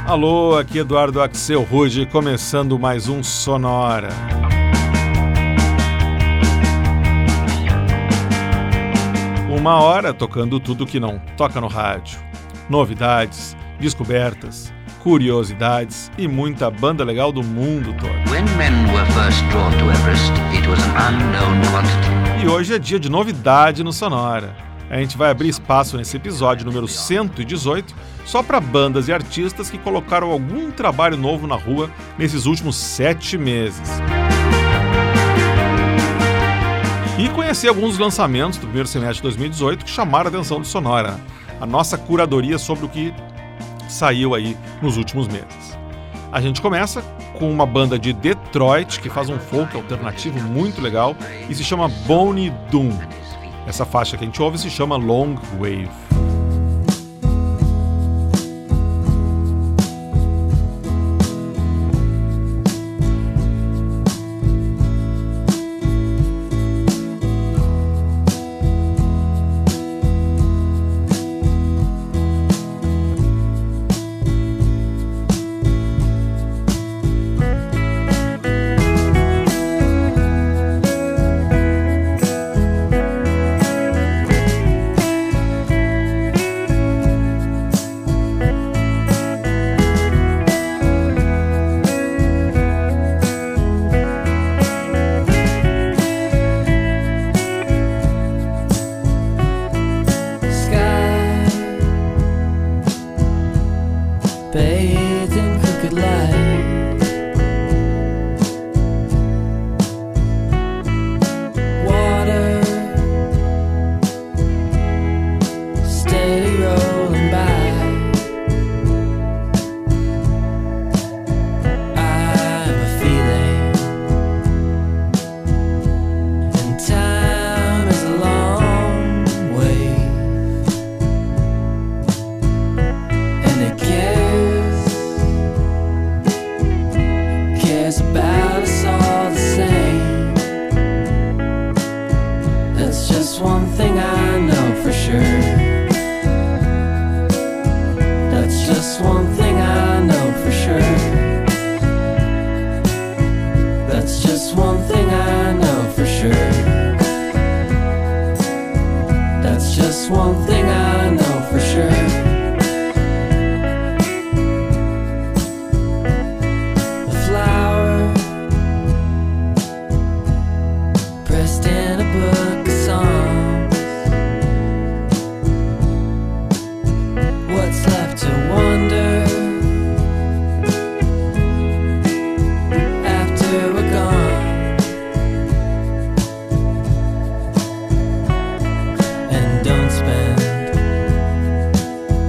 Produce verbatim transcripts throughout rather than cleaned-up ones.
Alô, aqui Eduardo Axel Ruge, começando mais um Sonora. Uma hora tocando tudo que não toca no rádio. Novidades, descobertas, curiosidades e muita banda legal do mundo todo. When men were first drawn to Everest, it was an unknown quantity. E hoje é dia de novidade no Sonora. A gente vai abrir espaço nesse episódio número cento e dezoito só para bandas e artistas que colocaram algum trabalho novo na rua nesses últimos sete meses. E conhecer alguns dos lançamentos do primeiro semestre de dois mil e dezoito que chamaram a atenção do Sonora, a nossa curadoria sobre o que saiu aí nos últimos meses. A gente começa com uma banda de Detroit que faz um folk alternativo muito legal e se chama Boney Doom. Essa faixa que a gente ouve se chama Long Wave. Don't spend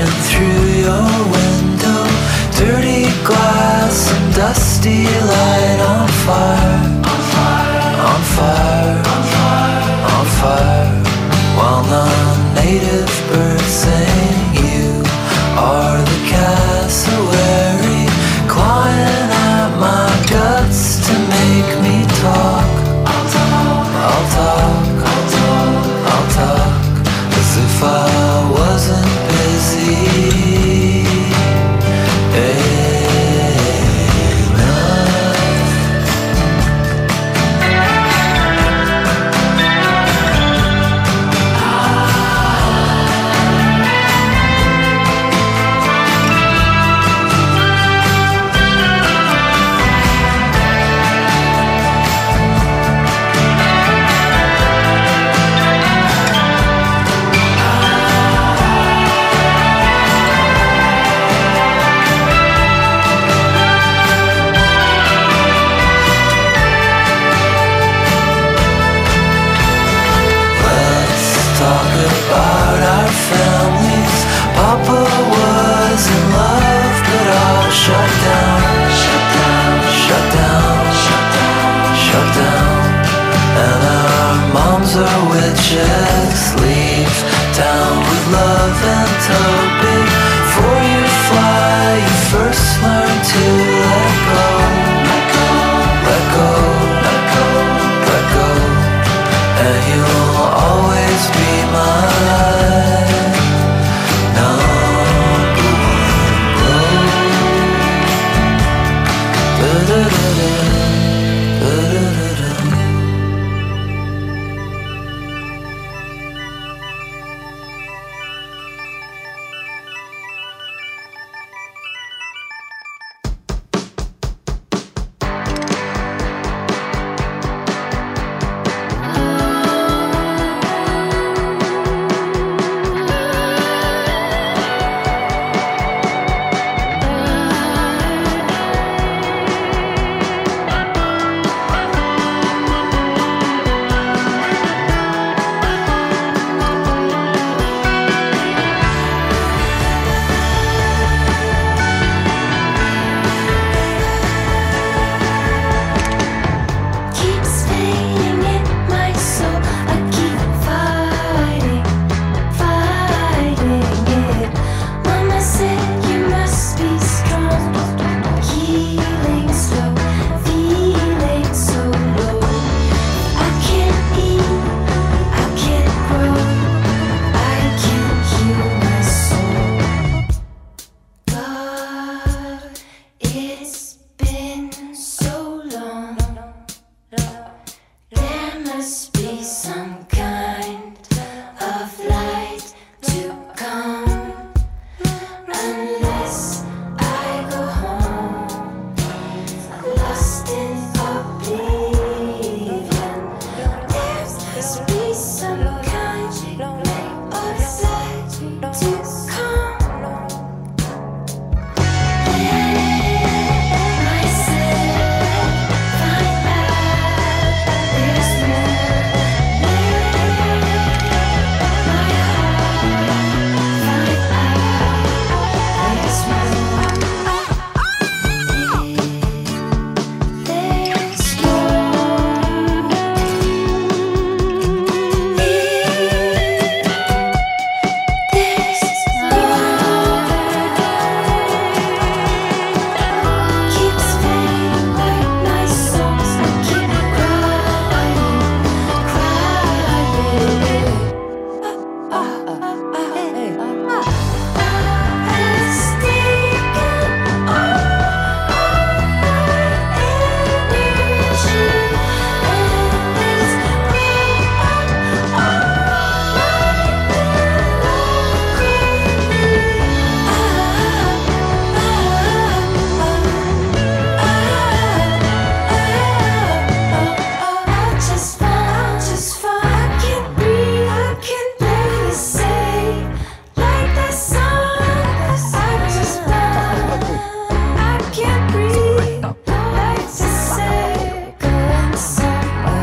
reflection through your window, dirty glass and dusty light on fire, on fire, on fire, on fire, on fire, while non-native birds sing. You are the cassowary, clawing at my guts to make me talk. I'll talk, I'll talk, I'll talk, I'll talk, as if I wasn't busy.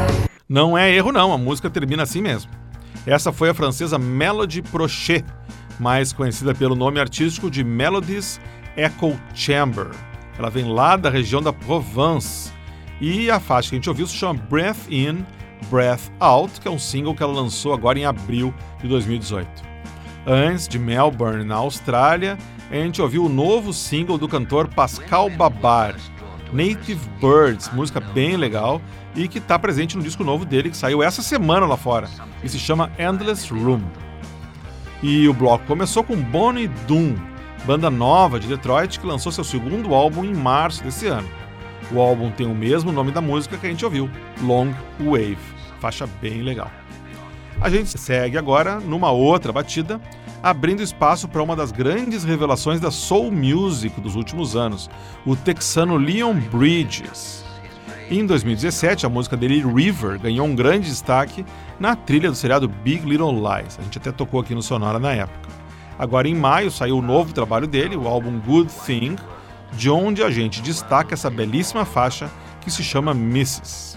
Não é erro não, a música termina assim mesmo. Essa foi a francesa Melody Prochet, mais conhecida pelo nome artístico de Melodies Echo Chamber. Ela vem lá da região da Provence. E a faixa que a gente ouviu se chama Breath In, Breath Out, que é um single que ela lançou agora em abril de dois mil e dezoito. Antes, de Melbourne, na Austrália, a gente ouviu o novo single do cantor Pascal Babar, Native Birds, música bem legal e que está presente no disco novo dele que saiu essa semana lá fora e se chama Endless Room. E o bloco começou com Bonnie Doon, banda nova de Detroit que lançou seu segundo álbum em março desse ano. O álbum tem o mesmo nome da música que a gente ouviu, Long Wave, faixa bem legal. A gente segue agora numa outra batida, abrindo espaço para uma das grandes revelações da soul music dos últimos anos, o texano Leon Bridges. Em dois mil e dezessete, a música dele, River, ganhou um grande destaque na trilha do seriado Big Little Lies. A gente até tocou aqui no Sonora na época. Agora, em maio, saiu o novo trabalho dele, o álbum Good Thing, de onde a gente destaca essa belíssima faixa que se chama Missus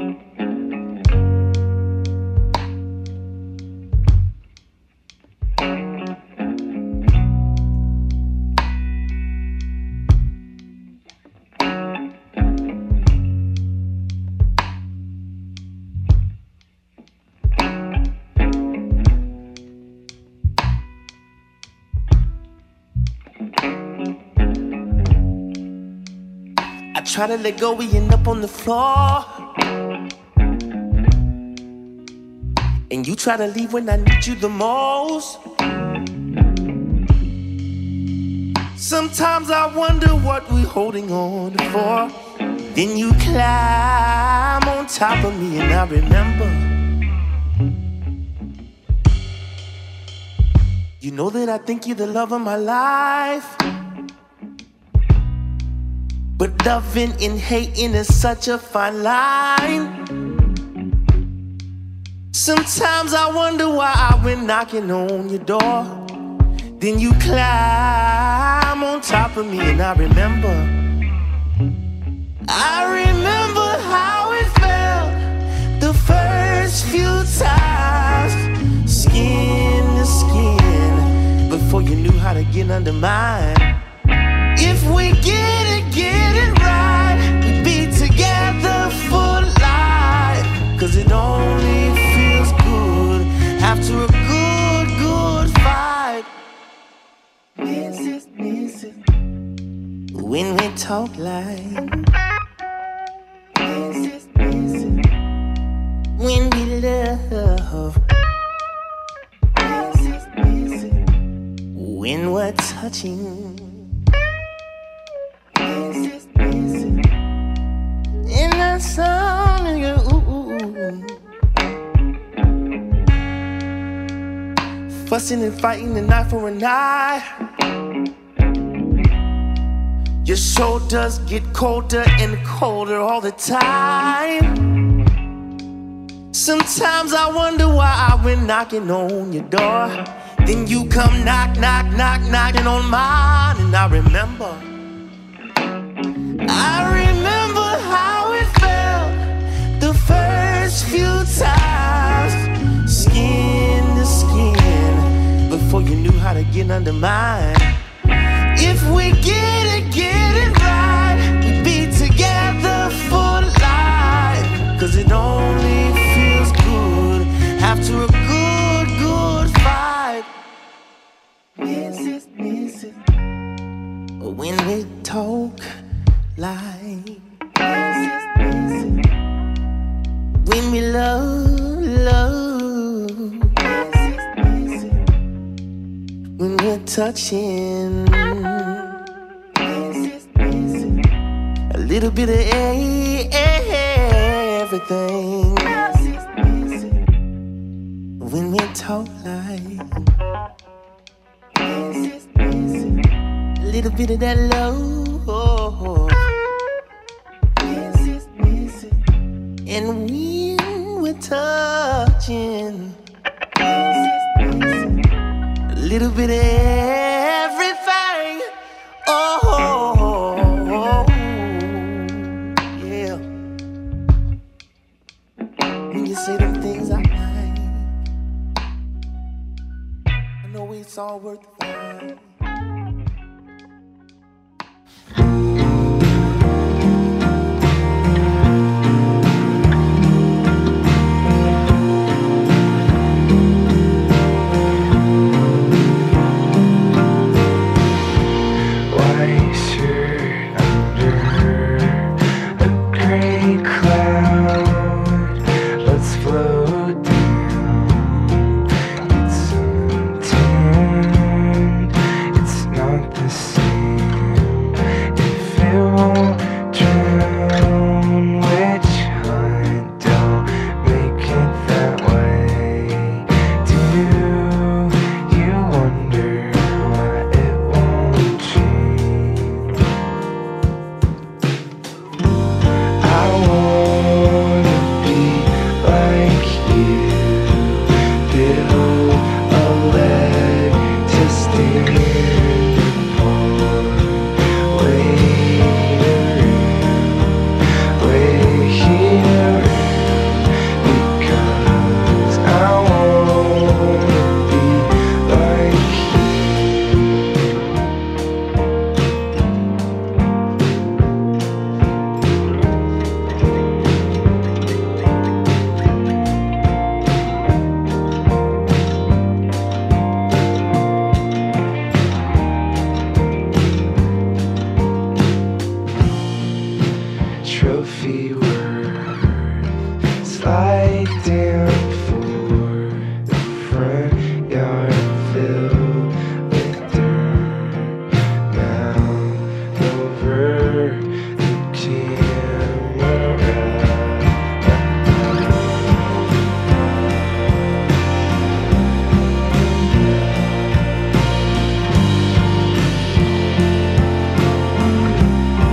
Try to let go, we end up on the floor. And you try to leave when I need you the most. Sometimes I wonder what we're holding on for. Then you climb on top of me and I remember. You know that I think you're the love of my life. But loving and hating is such a fine line. Sometimes I wonder why I went knocking on your door. Then you climb on top of me and I remember. I remember how it felt the first few times. Skin to skin, before you knew how to get under mine. If we get it, get it right, we'd be together for life. Cause it only feels good after a good, good fight. Missus, Missus, when we talk like Missus, Missus, when we love Missus, Missus, when we're touching Missus, Missus, in that sound of your ooh, fussing and fighting the night for a night. Your shoulders get colder and colder all the time. Sometimes I wonder why I went knocking on your door. Then you come knock, knock, knock, knocking on mine, and I remember. I remember how it felt the first few times. Skin to skin, before you knew how to get under mine. If we get it, get it right, we'd be together for life. Cause it only feels good after a good, good fight. Missus, Missus, when we talk like Missus, Missus, when we love, love Missus, Missus, when we're touching Missus, Missus, a little bit of everything Missus, Missus, when we talk like Missus, Missus, a little bit of that love. Oh, Missus, Missus, and when we're touching, Missus, Missus, a little bit of everything. Oh, yeah. When you say them things I like, I know we it's all worth the while.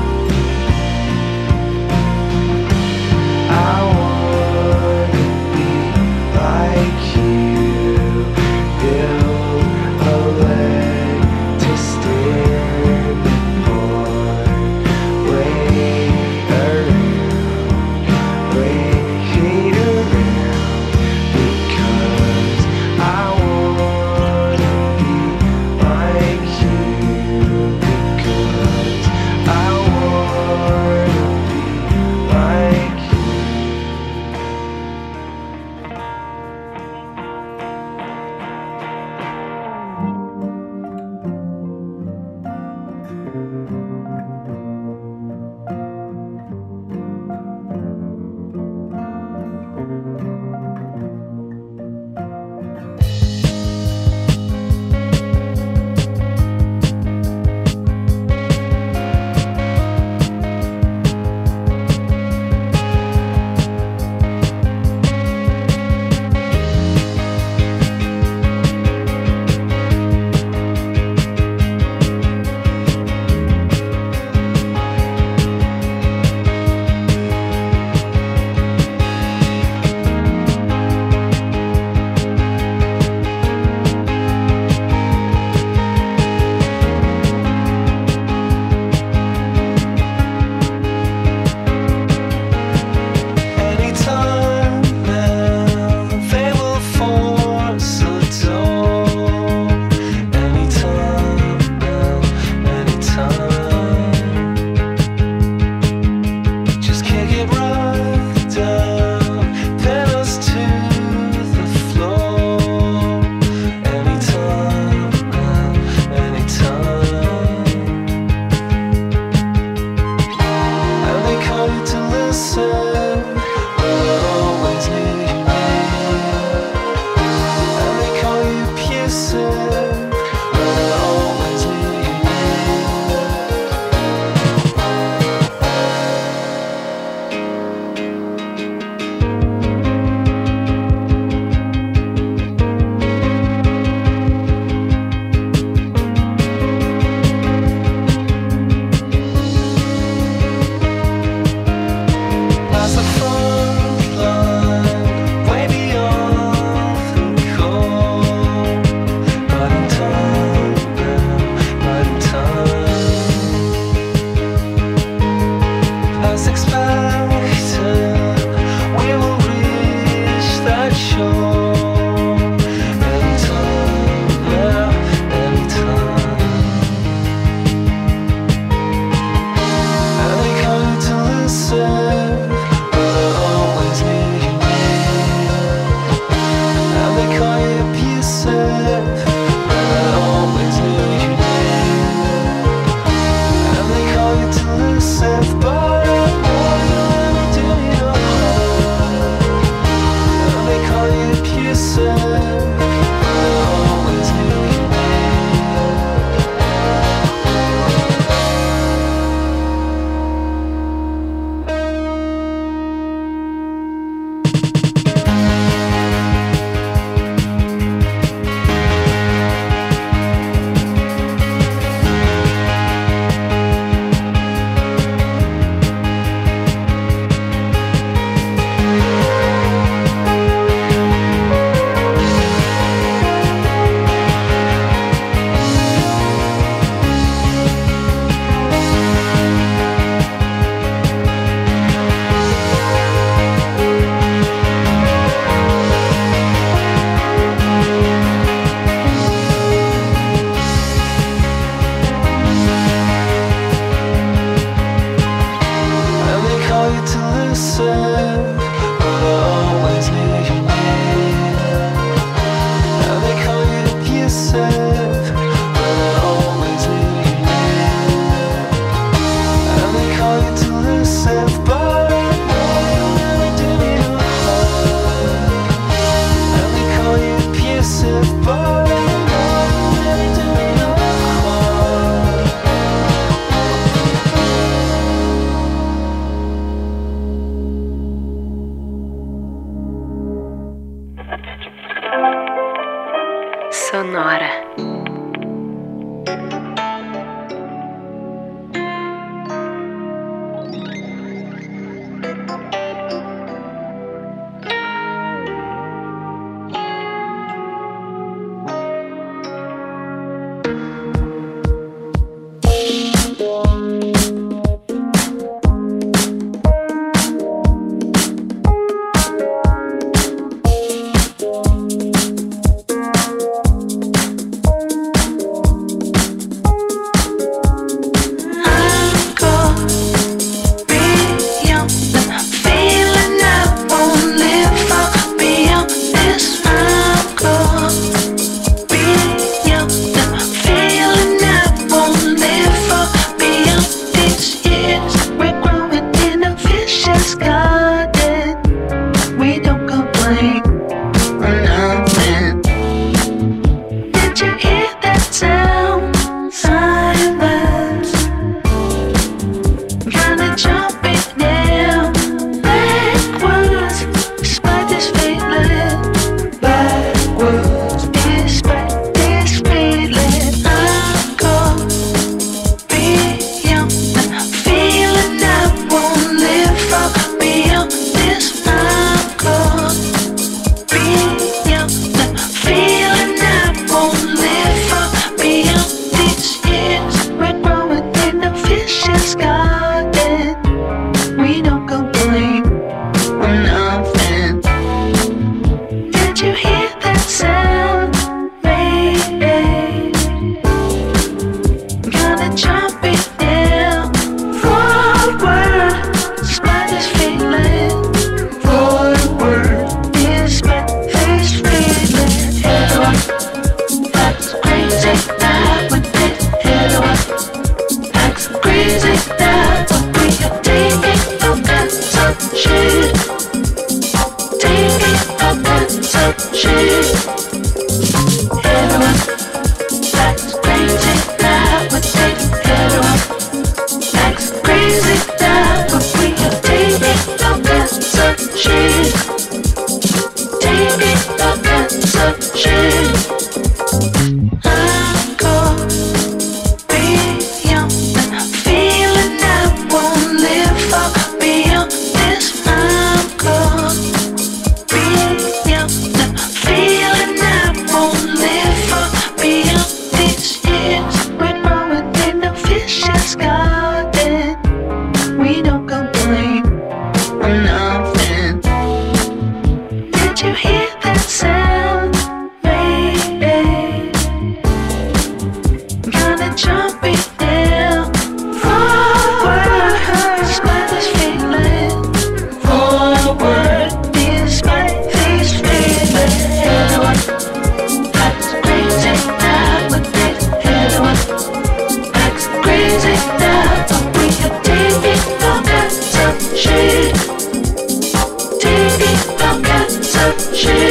I wanna be Sonora. Shit.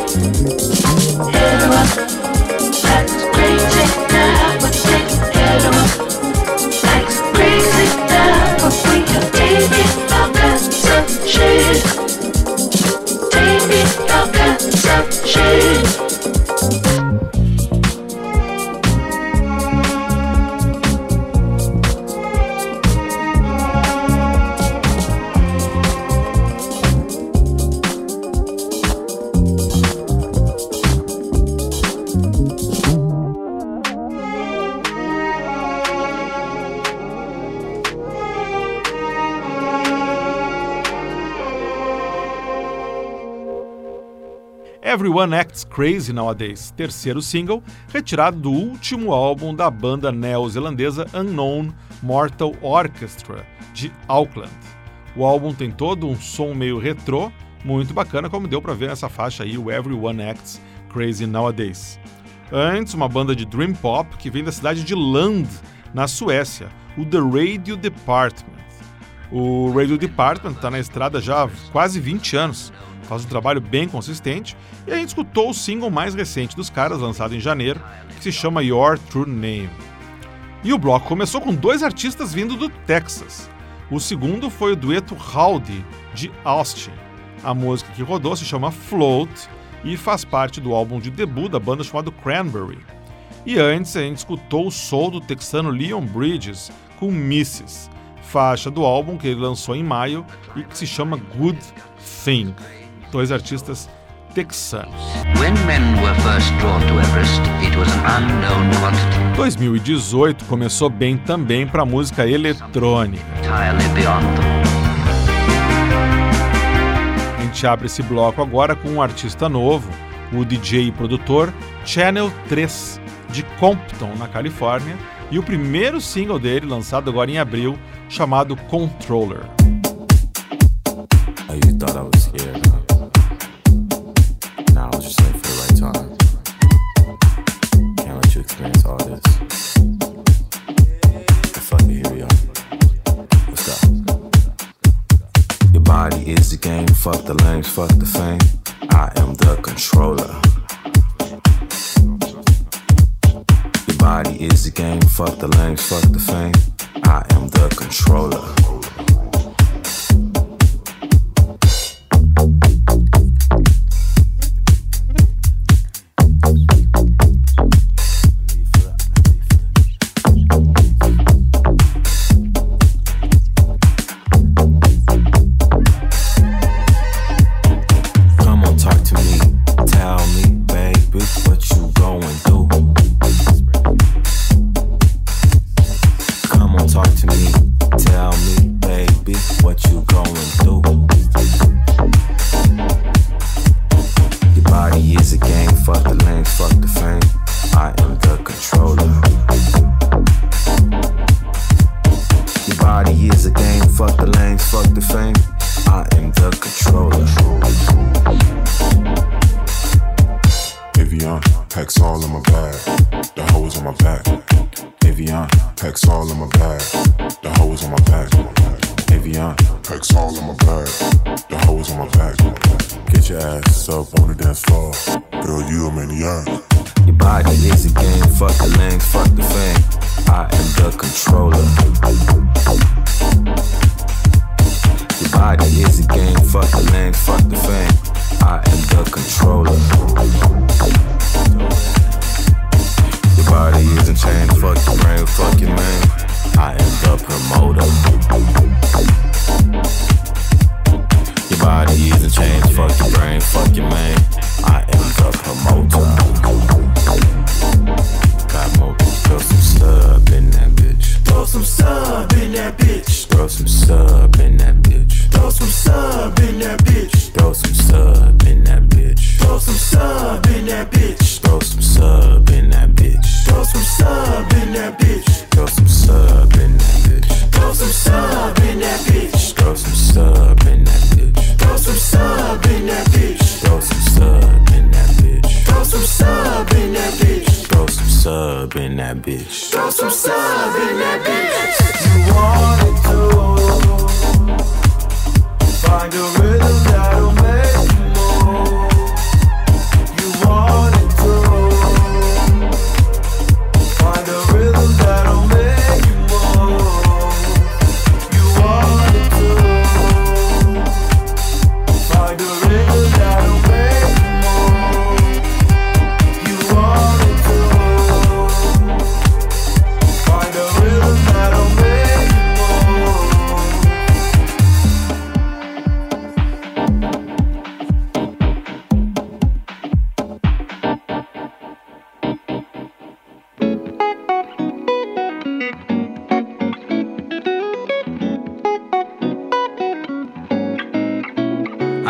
Everyone Acts Crazy Nowadays, terceiro single, retirado do último álbum da banda neozelandesa Unknown Mortal Orchestra, de Auckland. O álbum tem todo um som meio retrô, muito bacana, como deu pra ver nessa faixa aí, o Everyone Acts Crazy Nowadays. Antes, uma banda de Dream Pop que vem da cidade de Lund, na Suécia, o The Radio Department. O Radio Department está na estrada já há quase vinte anos, faz um trabalho bem consistente, e a gente escutou o single mais recente dos caras, lançado em janeiro, que se chama Your True Name. E o bloco começou com dois artistas vindo do Texas. O segundo foi o dueto Howdy, de Austin. A música que rodou se chama Float e faz parte do álbum de debut da banda chamado Cranberry. E antes a gente escutou o soul do texano Leon Bridges com Misses, faixa do álbum que ele lançou em maio e que se chama Good Thing. Dois artistas texanos. When men were first drawn to Everest, it was an unknown quantity. dois mil e dezoito começou bem também para a música eletrônica. Entirely beyond them. A gente abre esse bloco agora com um artista novo, o D J e produtor Channel três, de Compton, na Califórnia, e o primeiro single dele, lançado agora em abril, chamado Controller. Oh, you thought I was scared, huh? Nah, I was just late for the right time. Can't let you experience all this. But fuck it, here we are. Let's go. Your body is the game, fuck the lanes, fuck the fame. I am the controller. Your body is the game, fuck the lanes, fuck the fame. I am the controller.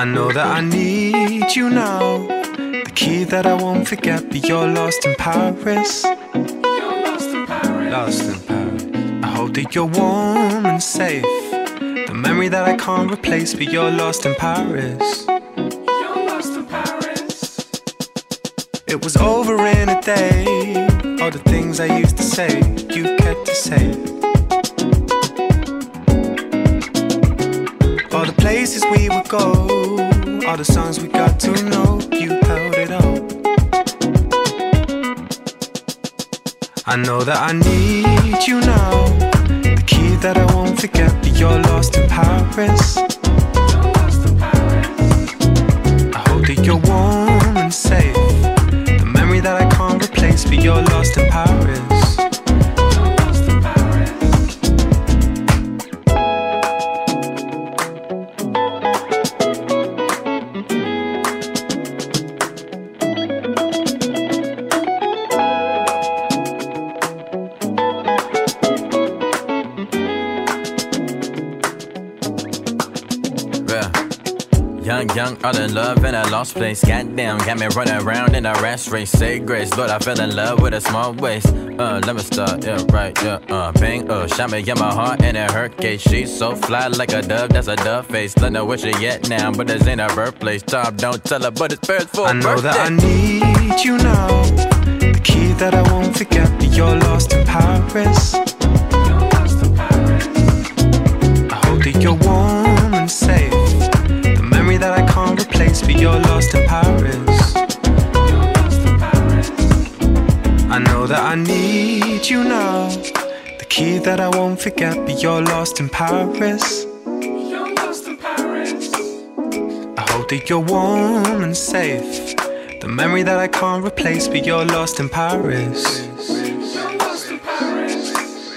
know that I need you now. The key that I won't forget, but you're lost in Paris. You're lost in Paris. Lost in Paris. I hope that you're warm and safe. The memory that I can't replace, but you're lost in Paris. You're lost in Paris. It was over in a day. All the things I used to say, you kept to say. All the places we would go, all the songs we got to know, you held it all. I know that I need you now. The key that I won't forget, but you're lost in Paris. You're lost in Paris. I hope that you're warm and safe. The memory that I can't replace, but you're lost in Paris. You're lost in Paris. Young, young, all in love in a lost place. Goddamn, got me running around in a rat race. Say grace, Lord, I fell in love with a small waist. Uh, let me start, yeah, right, yeah, uh, bang, uh, shot me in my heart and it hurt case. She's so fly like a dove, that's a dove face. Let know where she at now, but this ain't her birthplace. Tom, don't tell her, but it's first for I know birthday. that I need you now. The key that I won't forget, but you're lost in Paris. You're lost in Paris. I hope that you're warm and safe. That I can't replace, but you're lost in Paris. You're lost in Paris. I know that I need you now. The key that I won't forget, but you're lost in Paris. You're lost in Paris. I hope that you're warm and safe. The memory that I can't replace, but you're lost in Paris. You're lost in Paris.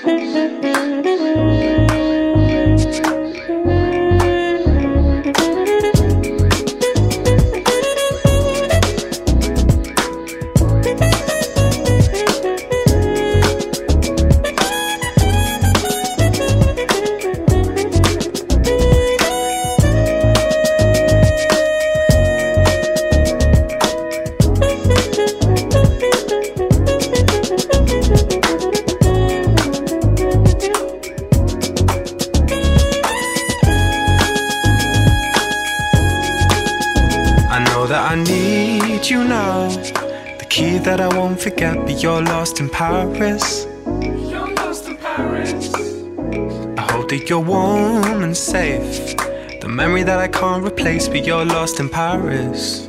I need you now. The key that I won't forget, but you're lost in Paris. You're lost in Paris. I hope that you're warm and safe. The memory that I can't replace, but you're lost in Paris.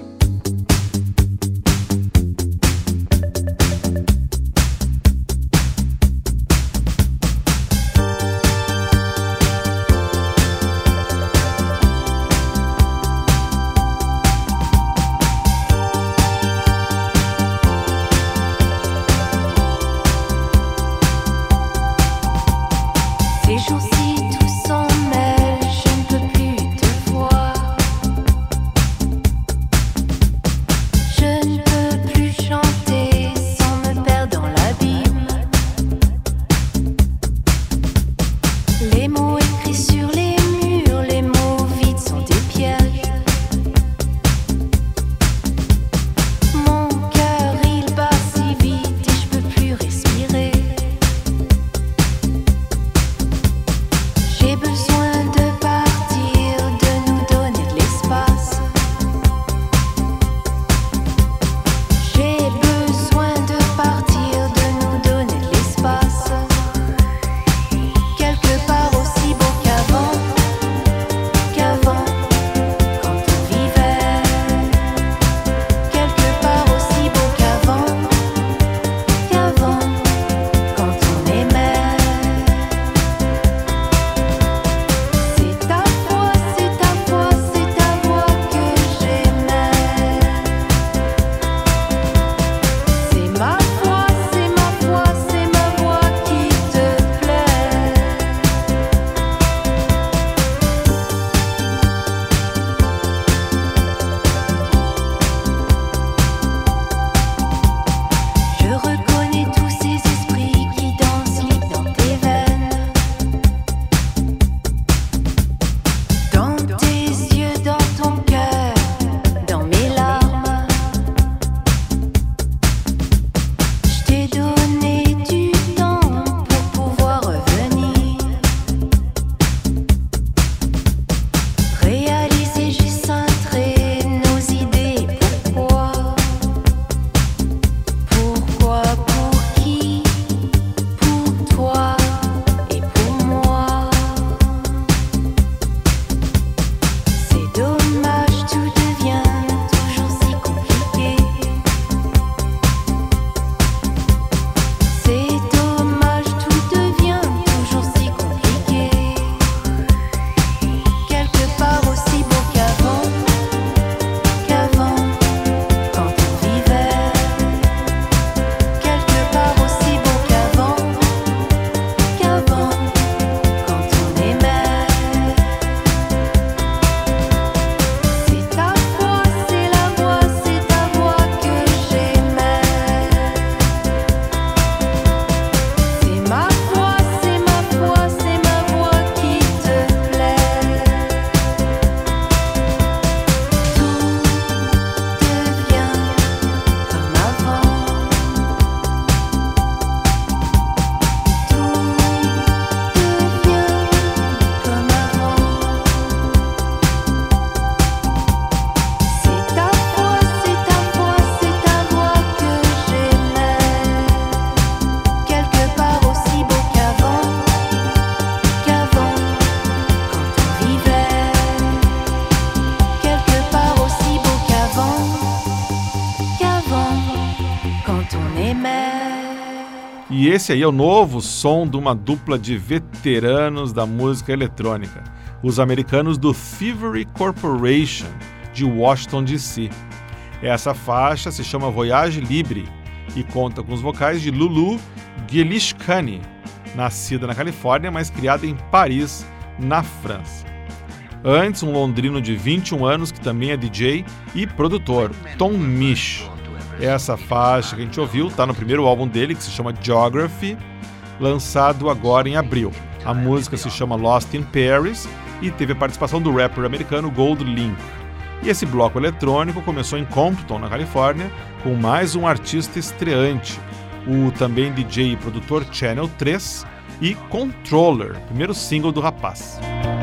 E esse aí é o novo som de uma dupla de veteranos da música eletrônica, os americanos do Thievery Corporation, de Washington, D C Essa faixa se chama Voyage Libre e conta com os vocais de Lulu Gelishkani, nascida na Califórnia, mas criada em Paris, na França. Antes, um londrino de vinte e um anos, que também é D J e produtor, Tom Misch. Essa faixa que a gente ouviu está no primeiro álbum dele, que se chama Geography, lançado agora em abril. A música se chama Lost in Paris e teve a participação do rapper americano Gold Link. E esse bloco eletrônico começou em Compton, na Califórnia, com mais um artista estreante, o também D J e produtor Channel três e Controller, primeiro single do rapaz.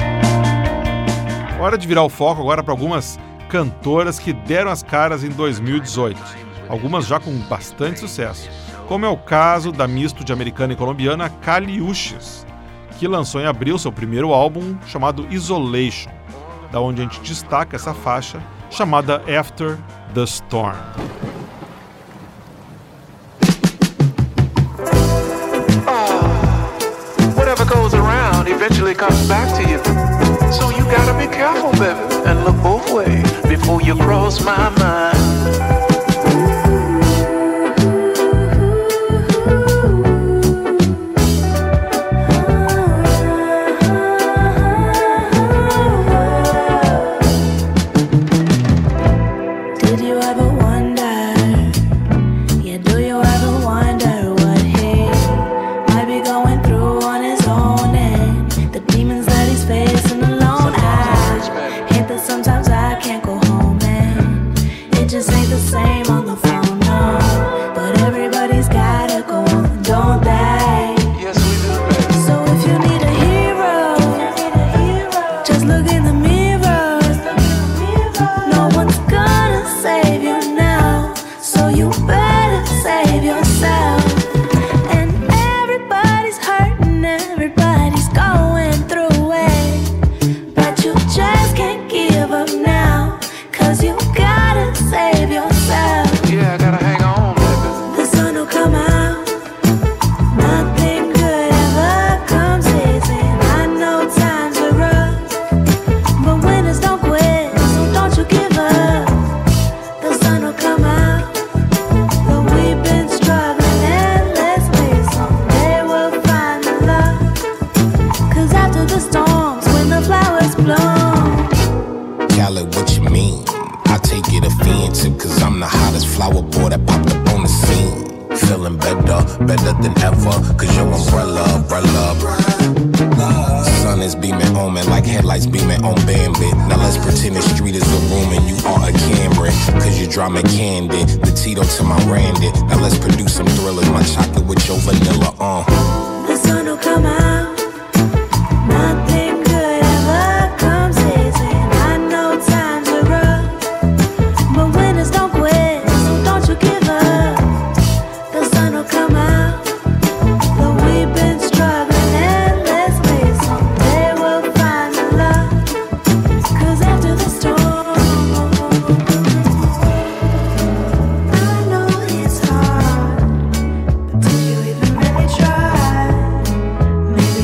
Hora de virar o foco agora para algumas cantoras que deram as caras em dois mil e dezoito, algumas já com bastante sucesso, como é o caso da misto de americana e colombiana Kali Uchis, que lançou em abril seu primeiro álbum chamado Isolation, da onde a gente destaca essa faixa chamada After the Storm. Whatever goes around eventually comes back to you. So you gotta be careful, baby, and look both ways before you cross my mind. Maybe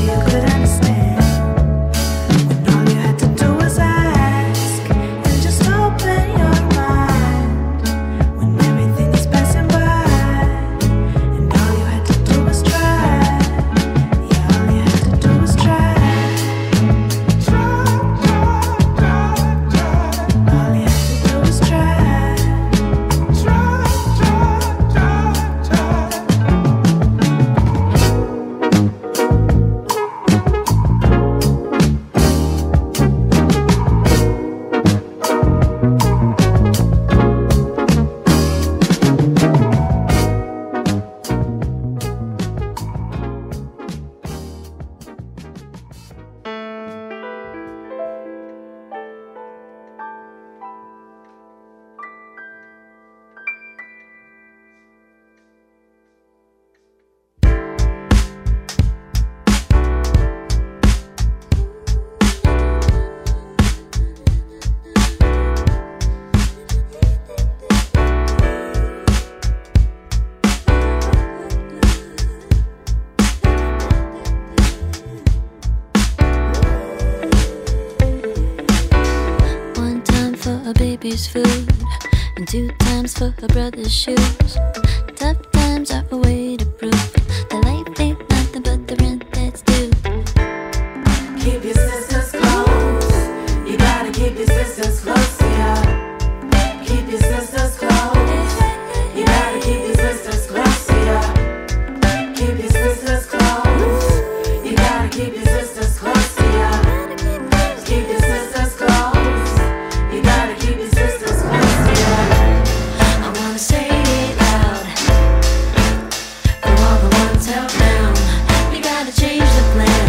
sister's food, and two times for her brother's shoes. Tough times are a way to prove that life ain't nothing but the rent that's due. Keep your sisters close. You gotta keep your sisters close to you. Keep your sisters close. You gotta keep your sisters close to you. Keep your sisters close. You gotta keep your sisters close to you. Keep your sisters close. You gotta keep your sisters close to you. I wanna say it loud for all the ones held down. We gotta change the plan.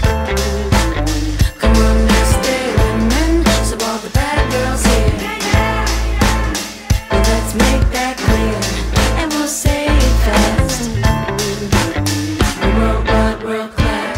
Come on, let's stay women, so all the bad girls here. Well, let's make that clear, and we'll say it fast. World wide, world class.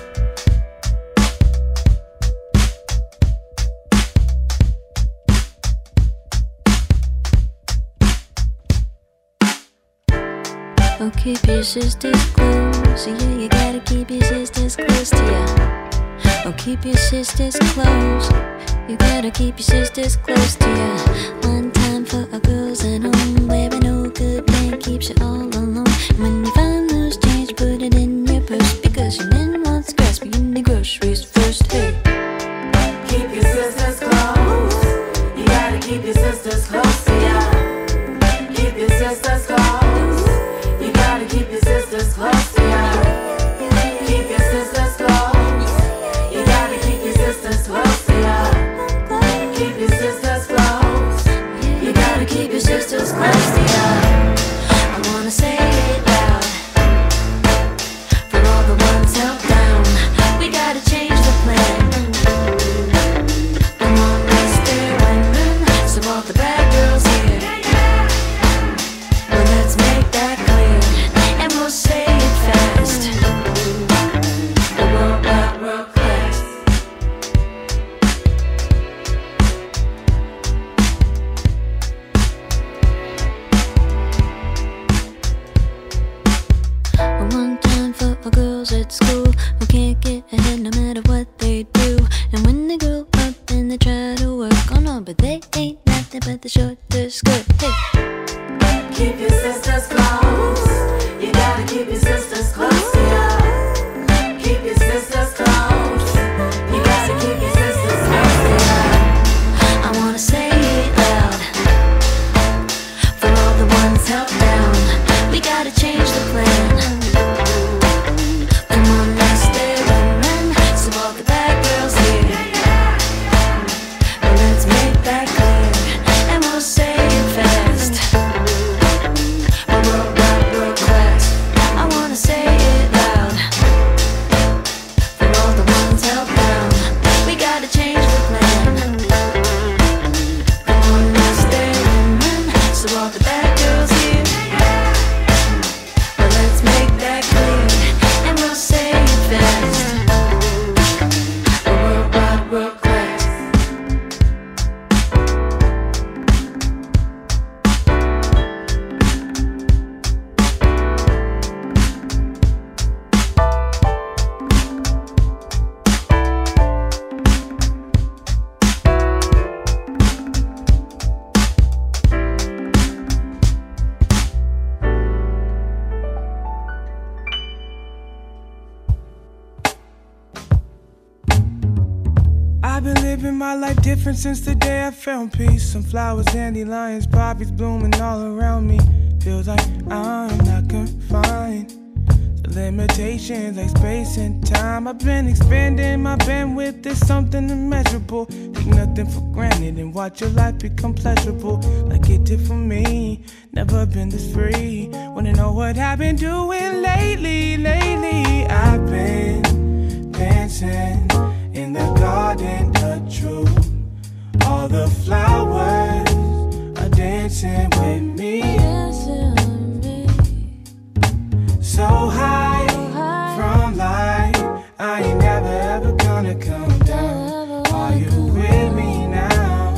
Oh, keep your sisters close. Yeah, you gotta keep your sisters close to ya. Oh, keep your sisters close. You gotta keep your sisters close to ya. One time for our girls at home, where no good man keeps you all alone. When you find loose change, put it in your purse, because your man wants grass, but you need groceries first. Hey. Keep your sisters close. You gotta keep your sisters close to you. Keep your sisters close. You gotta keep your sisters close to you. Keep your sisters close. You gotta keep your sisters close to you. Keep your sisters close. You gotta keep your sisters close to you. I wanna say it loud for all the ones held down. We gotta change the plan. Come on, let's stay women, so all the bad girls here. Well, let's make that clear, and we'll say it fast. The world wide, world class. One time for our girls at school who can't get ahead no matter what they do. And when they grow up and they try to work, oh no, but they ain't nothing but the shorter skirt. Hey. Keep your sisters close. You gotta keep your sisters close to you. Keep your sisters close. You gotta keep your sisters close to you. I wanna say it loud for all the ones held down. We gotta change the plan. Come on, let's stay women, so all the bad girls here. Well, let's make that clear, and we'll say it fast. World wide, world class. I wanna say it loud for all the ones held down. We gotta change the plan. Come on, let's stay women, so all the bad girls here. Well, let's make that clear, and we'll say it fast. World wide, world class. I've been living my life different since the day I found peace. Some flowers, dandelions, poppies blooming all around me. Feels like I'm not confined to limitations like space and time. I've been expanding my bandwidth, there's something immeasurable. Take nothing for granted and watch your life become pleasurable, like it did for me. Never been this free. Wanna know what I've been doing lately? Lately, I've been dancing in the garden of truth. All the flowers are dancing with me. So high from life, I ain't never ever gonna come down. Are you with me now?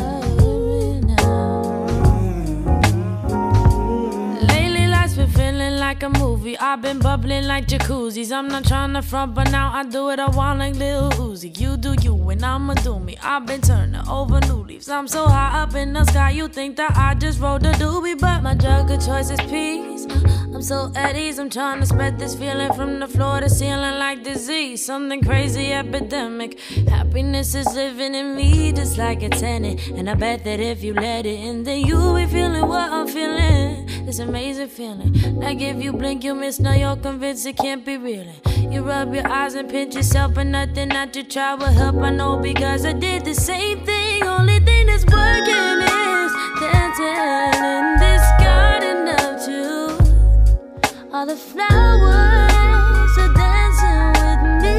Lately life's been feeling like a movie movie. I've been bubbling like jacuzzis. I'm not trying to front, but now I do it. I want like Lil Uzi. You do you, and I'ma do me. I've been turning over new leaves. I'm so high up in the sky, you think that I just rode the doobie, but my drug of choice is peace. I'm so at ease. I'm trying to spread this feeling from the floor to ceiling like disease. Something crazy epidemic. Happiness is living in me just like a tenant, and I bet that if you let it in, then you'll be feeling what I'm feeling. This amazing feeling. Like if you blink, you miss. Now you're convinced it can't be real. You rub your eyes and pinch yourself, but nothing that you try will help. I know because I did the same thing. Only thing that's working is dancing in this garden of truth. All the flowers are dancing with me.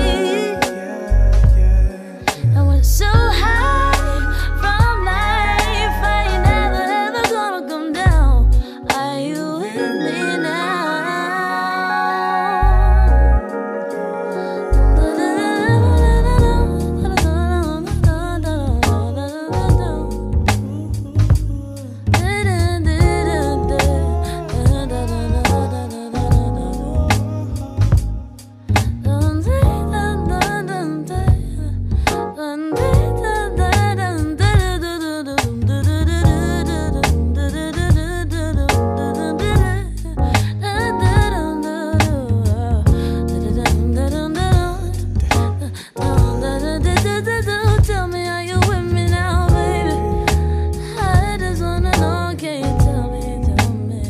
I was so high from life, I ain't never ever gonna come down. Are you with me now? Tell me, are you with me now, baby? I just wanna know, can you tell me, tell me?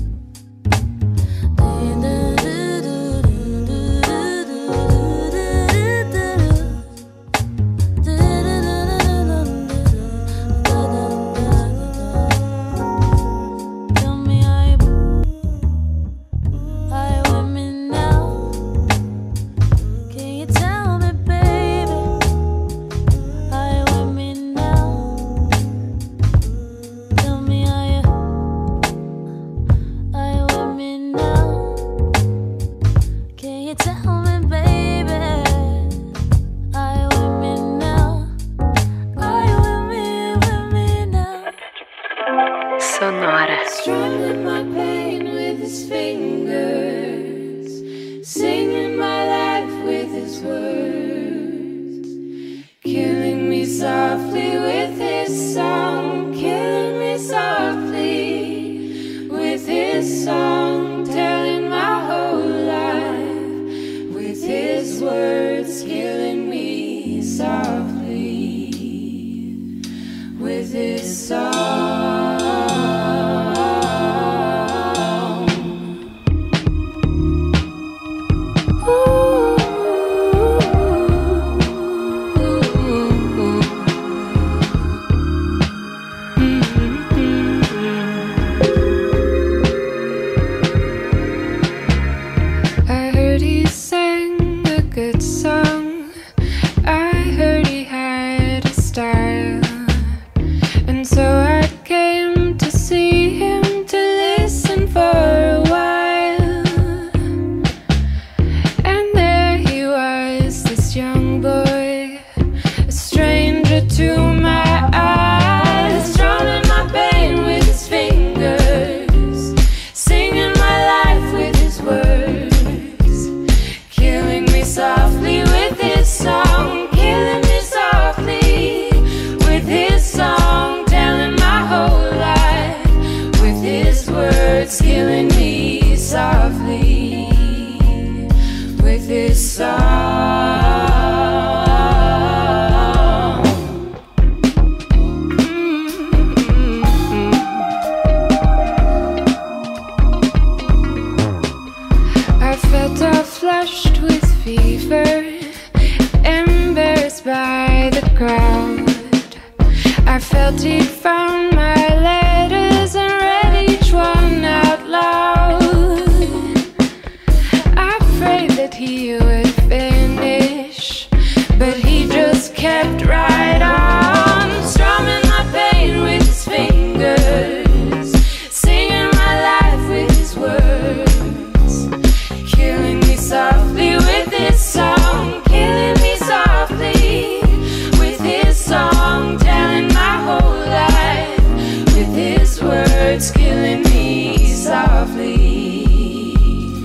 Tell me, are you, are you with me now? Can you tell me, baby? Are you with me now? Tell me, are you, are you with me now? Can you tell me, baby? Are you with me now? Are you with me, with me now? Sonora. Strumming my pain with his fingers, singing my life with his words, killing me softly with his song, killing me softly with his song, telling my whole life with his words, killing me softly with his song. I heard he sang a good song. I heard he had a style. And so I came to see him, to listen for a while. And there he was, this young boy, a stranger to my eyes, strumming my pain with his fingers, singing my life with his words, killing me softly with his song, killing me softly with his song, telling my whole life with his words, killing me softly with his song. I felt all flushed with fever, embarrassed by the crowd. I felt he'd found my letters and read each one out loud. I prayed that he would finish, but he just kept right on, strumming my pain with his fingers, singing my life with his words, killing me softly with his song, killing me softly with his song, telling my whole life with his words, killing me softly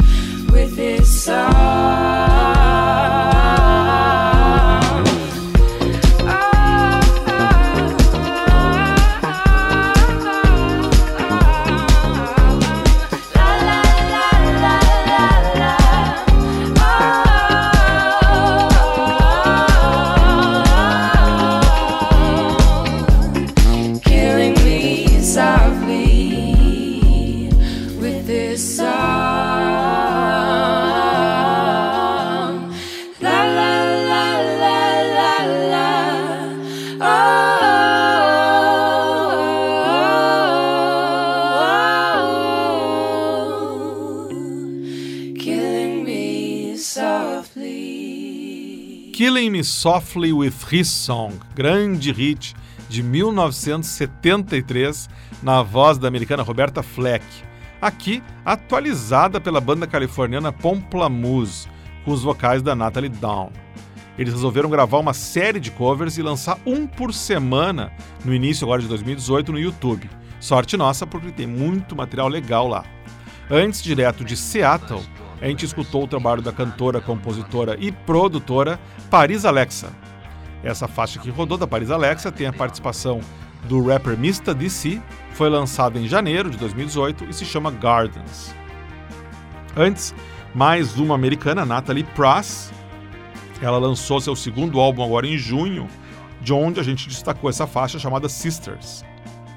a song. La la la la la la. Oh, killing me softly. Killing Me Softly with His Song, grande hit de mil novecentos e setenta e três, na voz da americana Roberta Fleck, aqui atualizada pela banda californiana Pomplamoose, com os vocais da Natalie Dawn. Eles resolveram gravar uma série de covers e lançar um por semana no início agora de dois mil e dezoito no YouTube. Sorte nossa, porque tem muito material legal lá. Antes, direto de Seattle, a gente escutou o trabalho da cantora, compositora e produtora Paris Alexa. Essa faixa que rodou da Paris Alexa tem a participação do rapper Mista D C, foi lançada em janeiro de dois mil e dezoito e se chama Gardens. Antes, mais uma americana, Natalie Prass. Ela lançou seu segundo álbum agora em junho, de onde a gente destacou essa faixa chamada Sisters.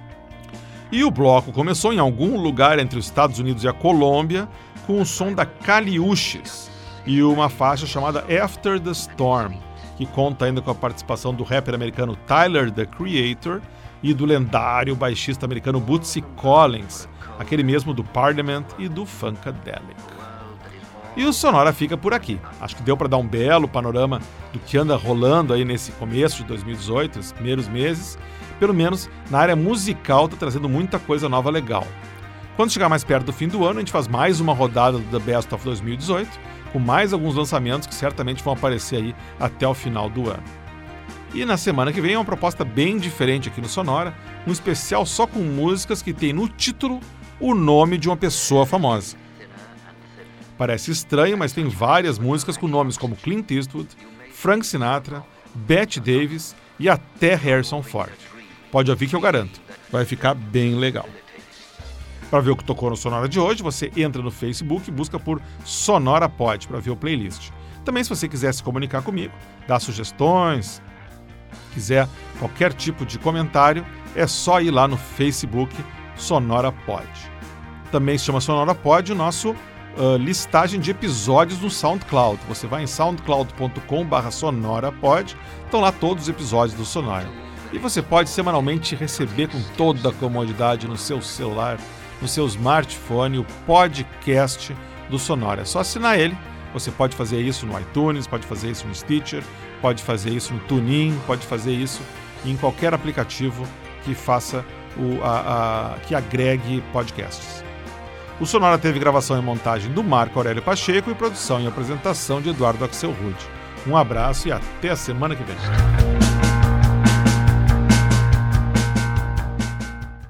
E o bloco começou em algum lugar entre os Estados Unidos e a Colômbia, com o som da Caliuches e uma faixa chamada After the Storm, que conta ainda com a participação do rapper americano Tyler, The Creator, e do lendário baixista americano Bootsy Collins, aquele mesmo do Parliament e do Funkadelic. E o Sonora fica por aqui. Acho que deu para dar um belo panorama do que anda rolando aí nesse começo de dois mil e dezoito, nos primeiros meses. Pelo menos na área musical tá trazendo muita coisa nova legal. Quando chegar mais perto do fim do ano, a gente faz mais uma rodada do The Best of dois mil e dezoito, com mais alguns lançamentos que certamente vão aparecer aí até o final do ano. E na semana que vem é uma proposta bem diferente aqui no Sonora, um especial só com músicas que tem no título o nome de uma pessoa famosa. Parece estranho, mas tem várias músicas com nomes como Clint Eastwood, Frank Sinatra, Bette Davis e até Harrison Ford. Pode ouvir que eu garanto, vai ficar bem legal. Para ver o que tocou no Sonora de hoje, você entra no Facebook e busca por Sonora Pod para ver o playlist. Também, se você quiser se comunicar comigo, dar sugestões, quiser qualquer tipo de comentário, é só ir lá no Facebook Sonora Pod. Também se chama Sonora Pod o nosso uh, listagem de episódios no SoundCloud. Você vai em soundcloud ponto com barra sonorapod, estão lá todos os episódios do Sonora. E você pode semanalmente receber com toda a comodidade no seu celular, no seu smartphone, o podcast do Sonora. É só assinar ele. Você pode fazer isso no iTunes, pode fazer isso no Stitcher, pode fazer isso no TuneIn, pode fazer isso em qualquer aplicativo que faça o, a, a, que agregue podcasts. O Sonora teve gravação e montagem do Marco Aurélio Pacheco e produção e apresentação de Eduardo Axel Rude. Um abraço e até a semana que vem.